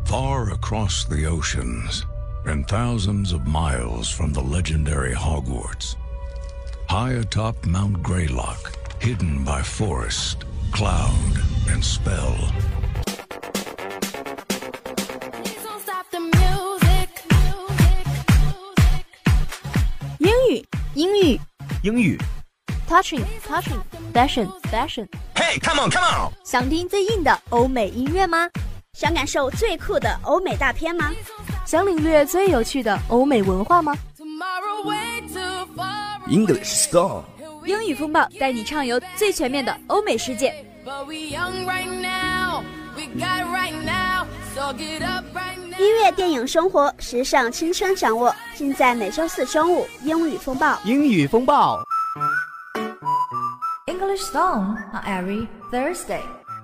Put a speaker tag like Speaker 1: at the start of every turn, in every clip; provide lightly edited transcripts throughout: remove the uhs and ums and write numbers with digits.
Speaker 1: Far across the oceans and thousands of miles from the legendary Hogwarts, high atop Mount Greylock, hidden by forest, cloud, and spell.
Speaker 2: 英语
Speaker 3: Touching Fashion
Speaker 2: Hey, come on!
Speaker 3: 想听最硬的欧美音乐吗？
Speaker 4: 想感受最酷的欧美大片吗？
Speaker 3: 想领略最有趣的欧美文化吗？
Speaker 2: English Storm
Speaker 3: 英语风暴带你畅游最全面的欧美世界。
Speaker 4: 音乐、电影、生活、时尚、青春掌握，尽在每周四中午英语风暴。
Speaker 2: 英语风暴
Speaker 5: English Song on every Thursday.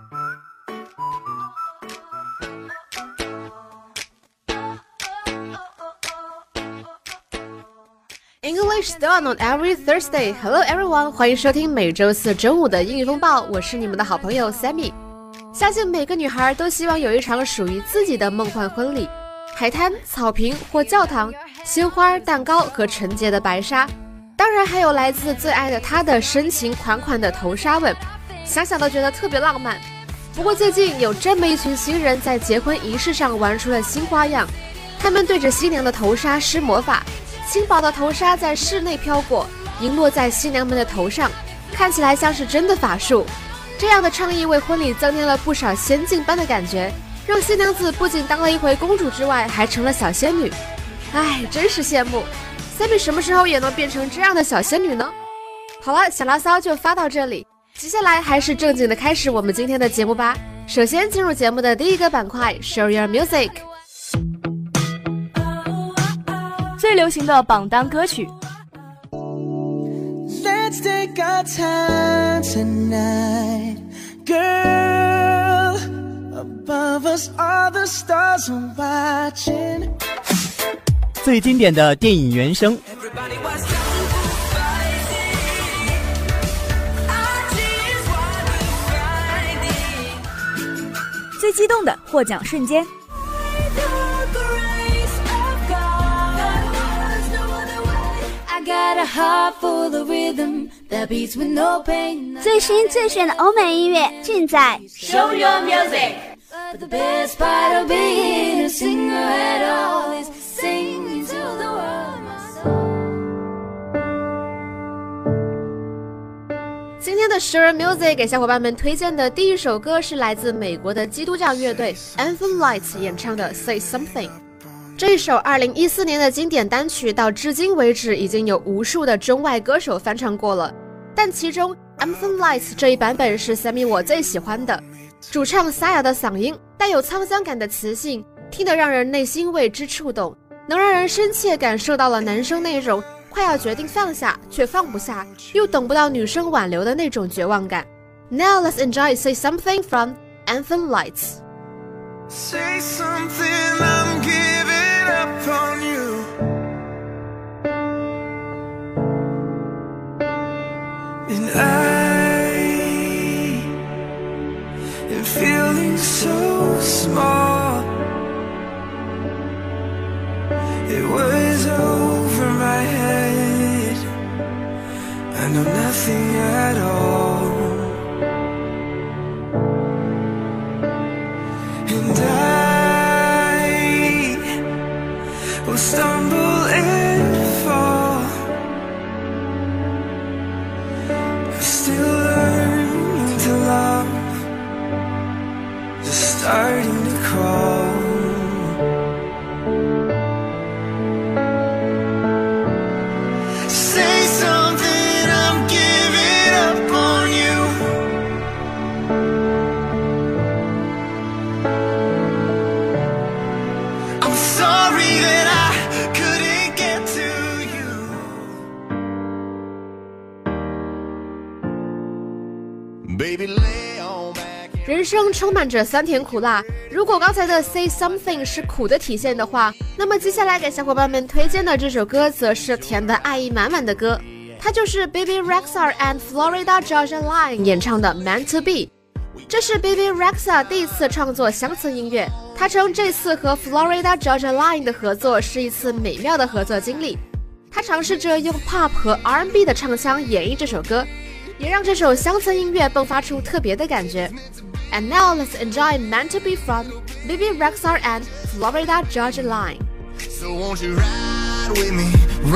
Speaker 6: English Song on every Thursday. Hello everyone， 欢迎收听每周四中午的英语风暴，我是你们的好朋友 Sammy。相信每个女孩都希望有一场属于自己的梦幻婚礼，海滩、草坪或教堂，鲜花、蛋糕和纯洁的白纱，当然还有来自最爱的她的深情款款的头纱吻，想想都觉得特别浪漫。不过最近有这么一群新人在结婚仪式上玩出了新花样，他们对着新娘的头纱施魔法，轻薄的头纱在室内飘过，迎落在新娘们的头上，看起来像是真的法术。这样的创意为婚礼增添了不少仙境般的感觉，让新娘子不仅当了一回公主之外，还成了小仙女。唉，真是羡慕 Sammy 什么时候也能变成这样的小仙女呢？好了，小牢骚就发到这里，接下来还是正经的开始我们今天的节目吧。首先进入节目的第一个板块 Show Your Music，
Speaker 3: 最流行的榜单歌曲。
Speaker 7: Let's take our time tonight, girl. Above us all the stars are watching.
Speaker 2: 最经典的电影原声，
Speaker 3: 最激动的获奖瞬间。
Speaker 4: 最新最炫的欧美音乐尽在
Speaker 8: Show Your Music。
Speaker 5: But the best part of being a singer at all is singing to the world my song。
Speaker 6: 今天的 Show Your Music 给小伙伴们推荐的第一首歌是来自美国的基督教乐队 Anthem Lights 演唱的 Say Something。这一首2014年的经典单曲到至今为止已经有无数的中外歌手翻唱过了，但其中 Anthem Lights 这一版本是 Sammy 我最喜欢的。主唱沙哑的嗓音，带有沧桑感的磁性，听得让人内心为之触动，能让人深切感受到了男生那种快要决定放下却放不下，又等不到女生挽留的那种绝望感。Now let's enjoy Say Something from Anthem Lights。
Speaker 7: Say something, I'm giving up on you. And I am feeling so small. It was over my head. I know nothing at all. And I will stumble and fall. I'm still learning to love, just starting to crawl. Say something, I'm giving up on you. I'm sorry that I couldn't get to you. Baby, lay on back.
Speaker 6: 人生充满着酸甜苦辣，如果刚才的 Say Something 是苦的体现的话，那么接下来给小伙伴们推荐的这首歌则是甜的爱意满满的歌，它就是 Baby Rexha and Florida Georgia Line 演唱的 Meant to Be。 这是 Bebe Rexha 第一次创作乡村音乐，他称这次和 Florida Georgia Line 的合作是一次美妙的合作经历。他尝试着用 pop 和 R&B 的唱腔演绎这首歌，也让这首乡村音乐迸发出特别的感觉。And now let's enjoy Meant to Be from Bebe Rexha and Florida Georgia Line.
Speaker 7: So won't you ride with me,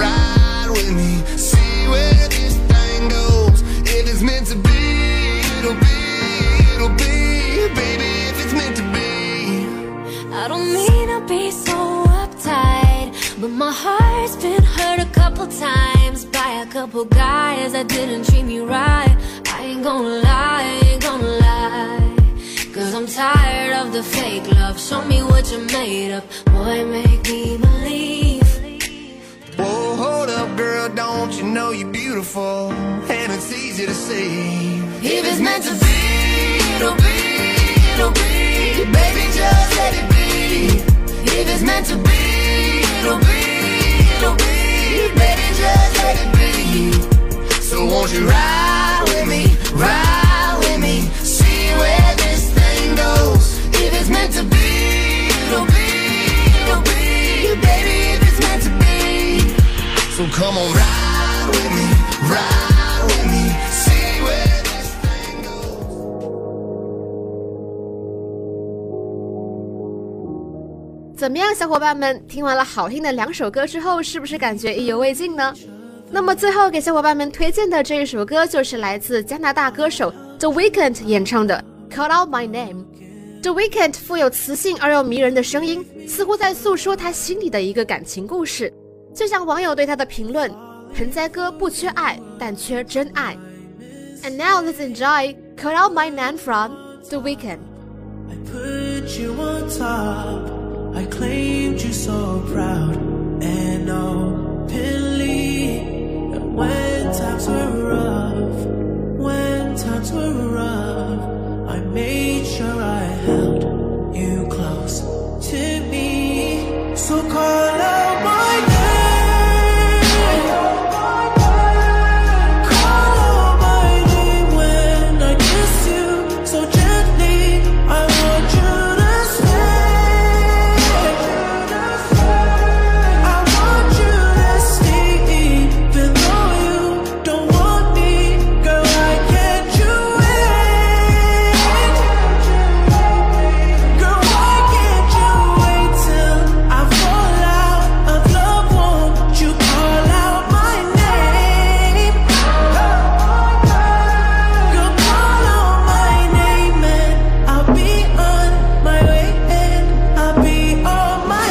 Speaker 7: see where this thing goes. If it's meant to be, it'll be, baby, if it's meant to be.
Speaker 5: I don't mean to be so uptight, but my heart's been hurt a couple times by a couple guys that didn't treat me right. I ain't gonna lie, cause I'm tired of the fake love. Show me what you're made of, boy, make me believe.
Speaker 7: Whoa, hold up, girl, don't you know you're beautiful? And it's easy to see.
Speaker 5: If it's meant to be, it'll be, baby, just let it be. If it's meant to be, it'll be, baby, just let it be.
Speaker 7: So won't you ride with me, see where this thing goes.
Speaker 5: If it's meant to be, it'll be, baby, if it's meant to be.
Speaker 7: So come on, ride with me, see where this thing goes.
Speaker 6: 怎么样，小伙伴们，听完了好听的2首歌之后，是不是感觉意犹未尽呢？那么最后给小伙伴们推荐的这一首歌就是来自加拿大歌手 The Weeknd 演唱的 Call Out My Name。The Weeknd 富有磁性而又迷人的声音，似乎在诉说他心里的一个感情故事，就像网友对他的评论：盆栽哥不缺爱，但缺真爱。And now let's enjoy Call Out My Name from The Weeknd.
Speaker 8: I put you on top, I claimed you so proud and openly. And when times were rough, I made sure I held you close to me. So call out my name, call out my name when I kiss you so gently. I want you to stay, I want you to stay, even though you don't want me, girl, I can't you wait, girl, why can't you wait till I fall out of love, won't you call out my name, girl, call out my name and I'll be on my way and I'll be on my,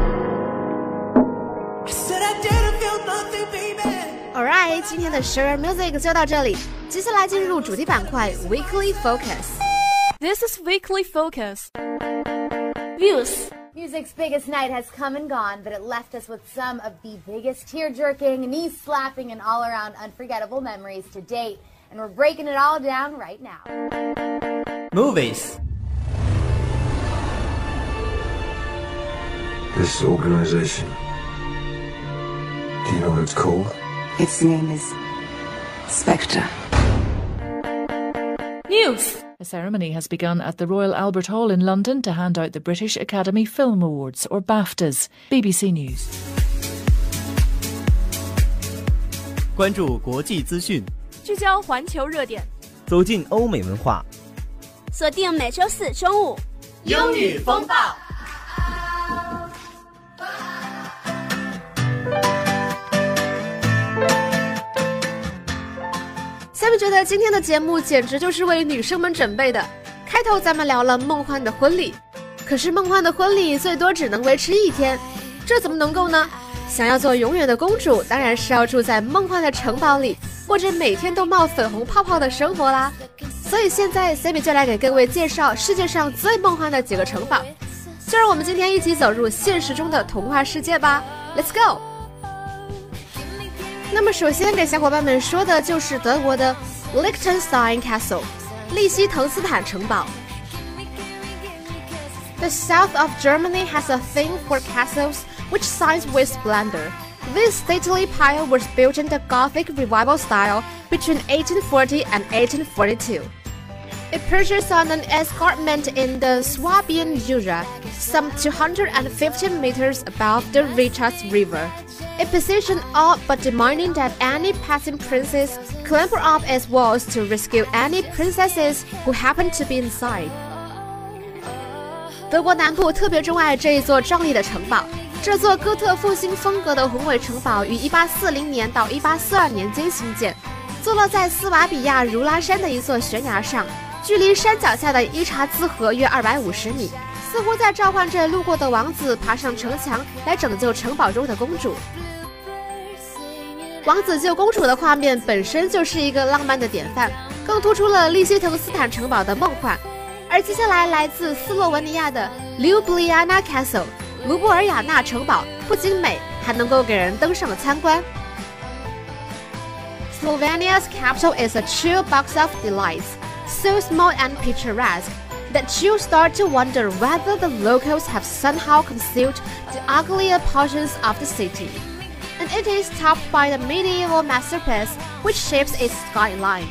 Speaker 8: I said I didn't feel nothing, baby.
Speaker 6: Alright， 今天的 Share Music 就到这里，接下来进入主题板块 Weekly Focus。
Speaker 3: This is Weekly Focus.
Speaker 9: Views. Music's biggest night has come and gone, but it left us with some of the biggest tear-jerking, knee-slapping, and all-around unforgettable memories to date. And we're breaking it all down right now.
Speaker 2: Movies.
Speaker 10: This organization, do you know what it's called?
Speaker 11: Its name is Spectre.
Speaker 3: News.
Speaker 12: A ceremony has begun at the Royal Albert Hall in London to hand out the British Academy Film Awards, or BAFTAs. BBC News.
Speaker 2: 关注国际资讯，
Speaker 3: 聚焦环球热点，
Speaker 2: 走进欧美文化，
Speaker 4: 锁定每周4中午
Speaker 3: 英语风暴。
Speaker 6: 下面觉得今天的节目简直就是为女生们准备的。开头咱们聊了梦幻的婚礼，可是梦幻的婚礼最多只能维持1天，这怎么能够呢？想要做永远的公主，当然是要住在梦幻的城堡里，过着每天都冒粉红泡泡的生活啦。所以现在 Sammy 就来给各位介绍世界上最梦幻的几个城堡，就让我们今天一起走入现实中的童话世界吧。 Let's go。 那么首先给小伙伴们说的就是德国的 Liechtenstein Castle 利希滕斯坦城堡。 The south of Germany has a thing for castles which shines with splendor. This stately pile was built in the Gothic revival style between 1840 and 1842. It perches on an escarpment in the Swabian Jura, some 250 meters above the Richards River. A position all but demanding that any passing princes clamber up its walls to rescue any princesses who happen to be inside. 德国南部特别钟爱这一座壮丽的城堡。这座哥特复兴风格的宏伟城堡于1840年到1842年间兴建，坐落在斯瓦比亚如拉山的一座悬崖上，距离山脚下的伊查兹河约250米，似乎在召唤着路过的王子爬上城墙来拯救城堡中的公主。王子救公主的画面本身就是一个浪漫的典范，更突出了利希滕斯坦城堡的梦幻。而接下来来自斯洛文尼亚的 Ljubljana Castle 卢布尔雅纳城堡不仅美，还能够给人登上参观。Slovenia's capital is a chill box of delights, so small and picturesque that you start to wonder whether the locals have somehow concealed the uglier portions of the city. And it is topped by the medieval masterpiece which shapes its skyline.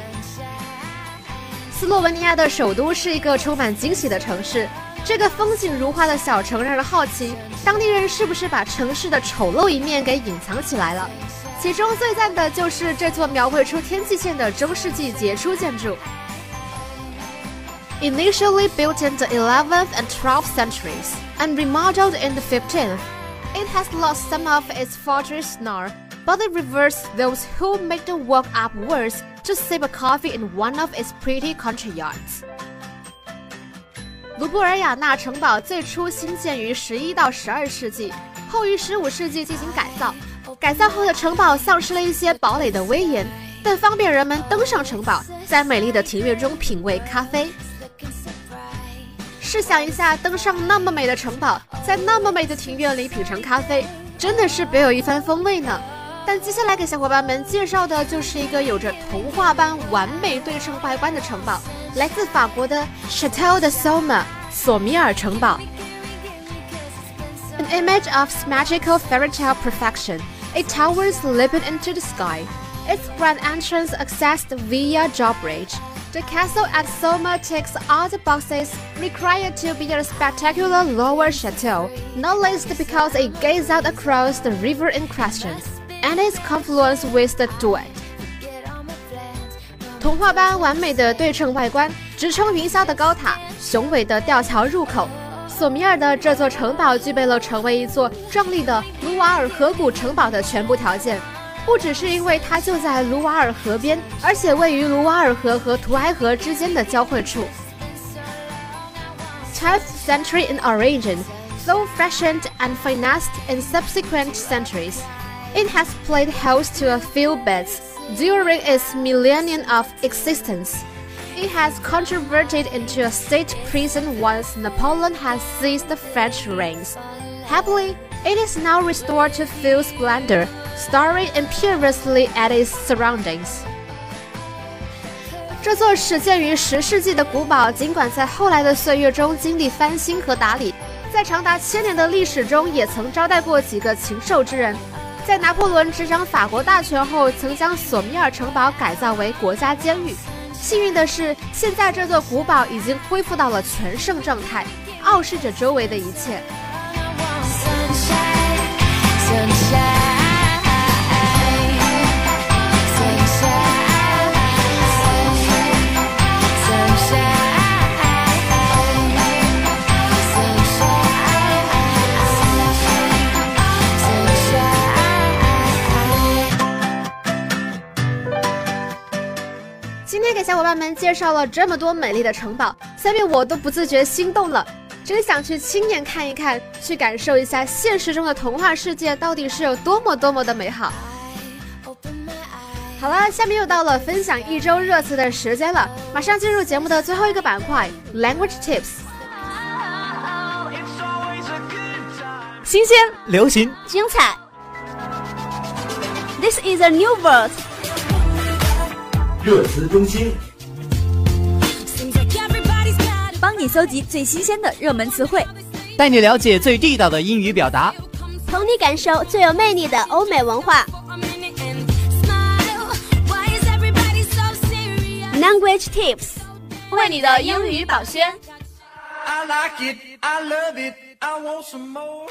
Speaker 6: 斯洛文尼亚的首都是一个充满惊喜的城市，这个风景如画的小城让人好奇，当地人是不是把城市的丑陋一面给隐藏起来了？其中最赞的就是这座描绘出天际线的中世纪杰出建筑。Initially built in the 11th and 12th centuries and remodeled in the 15th, it has lost some of its fortress snarl, but it reverts those who make the walk up worse to sip a coffee in one of its pretty country yards. 卢布尔雅纳城堡最初兴建于11到12世纪，后于15世纪进行改造。改造后的城堡丧失了一些堡垒的威严，但方便人们登上城堡，在美丽的庭院中品味咖啡。试想一下，登上那么美的城堡，在那么美的庭院里品尝咖啡，真的是别有一番风味呢。但接下来给小伙伴们介绍的就是一个有着童话般完美对称外观的城堡，来自法国的 Château de Somme 索米尔城堡。An image of magical fairy tale perfection, it towers leaping into the sky. Its grand entrance accessed via drawbridge. The castle at Somme ticks all the boxes required to be a spectacular lower chateau, not least because it gazes out across the river in question, and its confluence with the Douai. 童话般完美的对称外观，直冲云霄的高塔，雄伟的吊桥入口。索米尔的这座城堡具备了成为一座壮丽的卢瓦尔河谷城堡的全部条件。不只是因为它就在卢瓦尔河边，而且位于卢瓦尔河和图埃河之间的交汇处。12th century in origin, though fashioned and financed in subsequent centuries, it has played host to a few bids during its millennium of existence. It has converted into a state prison once Napoleon has seized the French reins. Happily, it is now restored to full splendor, staring imperiously at its surroundings. 这座始建于10世纪的古堡，尽管在后来的岁月中经历翻新和打理，在长达1000年的历史中，也曾招待过几个禽兽之人。在拿破仑执掌法国大权后，曾将索米尔城堡改造为国家监狱。幸运的是，现在这座古堡已经恢复到了全盛状态，傲视着周围的一切。今天给小伙伴们介绍了这么多美丽的城堡，下面我都不自觉心动了，真想去亲眼看一看，去感受一下现实中的童话世界到底是有多么的美好。好了，下面又到了分享一周热词的时间了，马上进入节目的最后一个板块 Language Tips。
Speaker 2: 新鲜、流行、
Speaker 4: 精彩。 This is a new word。
Speaker 13: 热词中心，
Speaker 3: 帮你搜集最新鲜的热门词汇，
Speaker 2: 带你了解最地道的英语表达，
Speaker 4: 同你感受最有魅力的欧美文化。Language Tips，
Speaker 3: 为你的英语保宣。
Speaker 8: I like it, I love it, I want some more.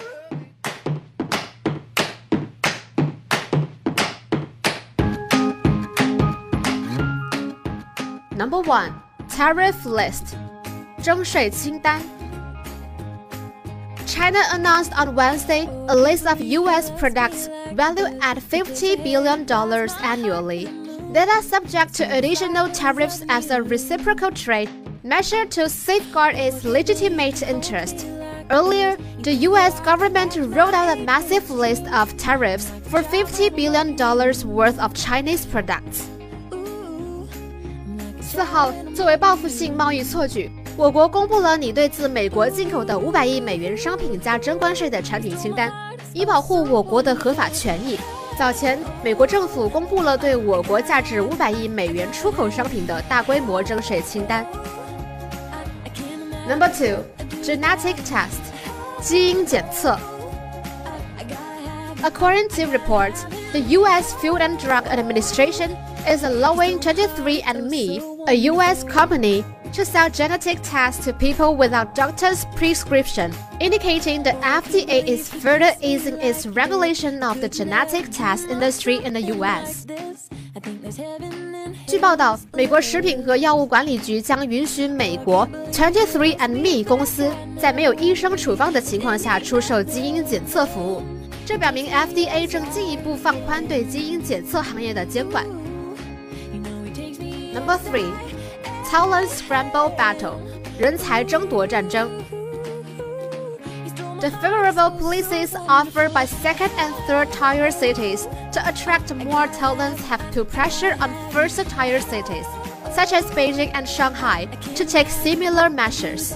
Speaker 6: Number 1. Tariff list. 征税清单。China announced on Wednesday a list of U.S. products valued at $50 billion annually that are subject to additional tariffs as a reciprocal trade measure to safeguard its legitimate interest. Earlier, the U.S. government rolled out a massive list of tariffs for $50 billion worth of Chinese products. 4号，作为报复性贸易错举，我国公布了拟对自美国进口的500亿美元商品加征关税的产品清单，以保护我国的合法权益。早前，美国政府公布了对我国价值500亿美元出口商品的大规模征税清单。Number 2. Genetic test. 基因检测。According to reports, the U.S. Food and Drug Administration is allowing 23andMe, a U.S. company, to sell genetic tests to people without doctor's prescription, indicating the FDA is further easing its regulation of the genetic test industry in the U.S. 据报道，美国食品和药物管理局将允许美国 23andMe 公司在没有医生处方的情况下出售基因检测服务。这表明 FDA 正进一步放宽对基因检测行业的监管。Number 3. Talent Scramble Battle. 人才争夺战争。The favorable policies offered by second and third tier cities to attract more talents have put pressure on first tier cities, such as Beijing and Shanghai, to take similar measures.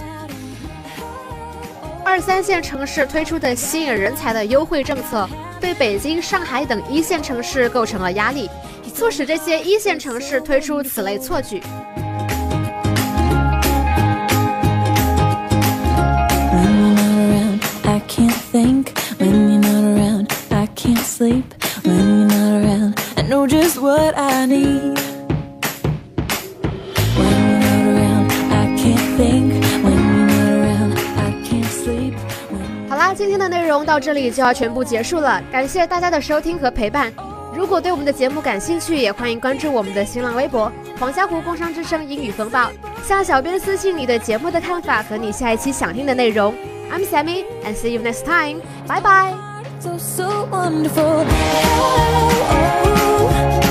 Speaker 6: 2、3线城市推出的吸引人才的优惠政策，对北京、上海等1线城市构成了压力，促使这些1线城市推出此类错举。
Speaker 5: I can't think when you're not around. I can't sleep when you're not around. I know just what I need. When you're not around, I can't think. When you're not around, I can't sleep.
Speaker 6: 好啦，今天的内容到这里就要全部结束了，感谢大家的收听和陪伴。如果对我们的节目感兴趣，也欢迎关注我们的新浪微博黄家湖工商之声英语风暴，向小编私信你对节目的看法和你下一期想听的内容。I'm Sammy, and see you next time. Bye bye.
Speaker 5: So wonderful. Oh, oh, oh.